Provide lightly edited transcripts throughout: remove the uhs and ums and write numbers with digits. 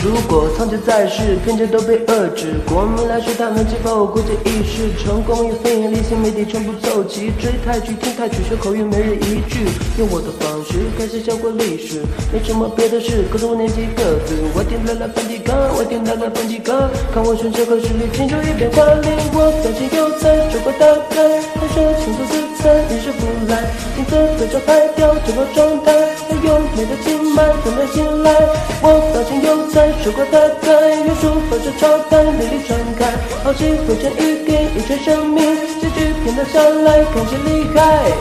如果藏钱在世，偏见都被遏制。国民来说，他们解放国家意识，成功与非营利性媒体全部凑齐，追泰剧、听泰曲，学口语每日一句，用我的方式开始教过历史，没什么别的事，高中5年级个子，我听到了梵蒂冈，我听到了梵蒂冈，看我选这个实力，请就一片华丽，我表情有才，手把打开，他说请做自残，一时不来，金色的招牌掉整个状态，还有美的经脉等待醒来，我表情有才，手把打开，元素发射超派，美丽传开，好奇会成语给一圈生命，结局骗得下来，看谁厉害。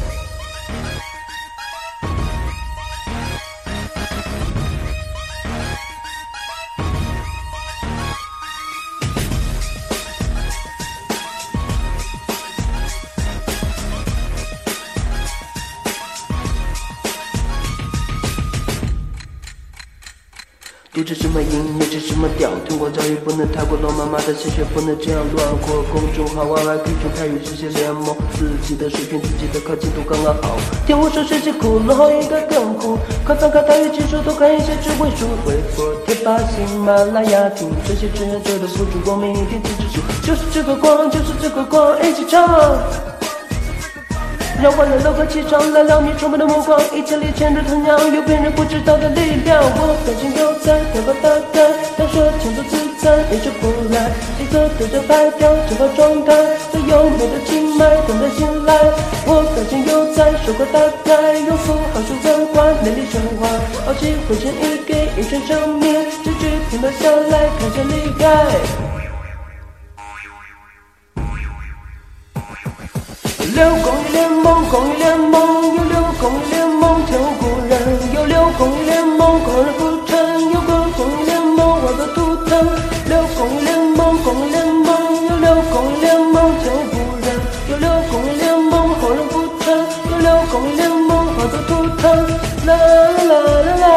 读着什么音，念着什么调，通过教育不能太过老妈妈的鲜血不能这样乱过。公众号YYP中泰语世界联盟，自己的水平自己的靠近度刚刚好。听我说世界酷，然后应该更酷。快翻开泰语技术，多看一些智慧书。微博、贴吧、喜马拉雅听，这些志愿者的付出，光明一片金指数，就是这个光，就是这个光，一起唱。让万人楼和气场来撩你充满的目光，一千里牵着藤酿，有别人不知道的力量。我表情有才，头发打开，他说请做自残，一直不来，金色对着拍掉整个状态，最优美的经脉等待醒来。我表情有才，手把打开，用符号数文化，美丽神话，傲气汇成一给一圈生命，结局拼了下来，看谁厉害。6公益联盟，公益联盟，有6公益联盟，前无古人，有6公益联盟，狂人不成，有个公益联盟，画个图腾。6公益联盟，公益联盟，有6公益联盟，前无古人，有6公益联盟，狂人不成，有6公益联盟，画个图腾。啦啦啦啦啦，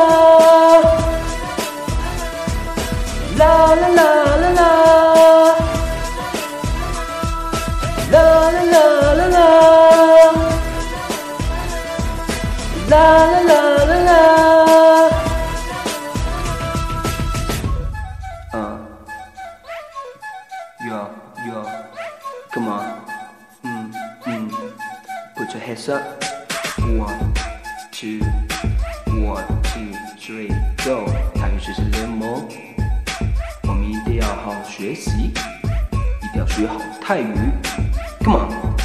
啦啦啦啦啦。啦啦啦啦啦，啦啦啦啦啦。Yo, come on, put your hands up. 1, 2, 1, 2, 3, go. 泰语学习联盟，我们一定要好好学习，一定要学好泰语。Come on.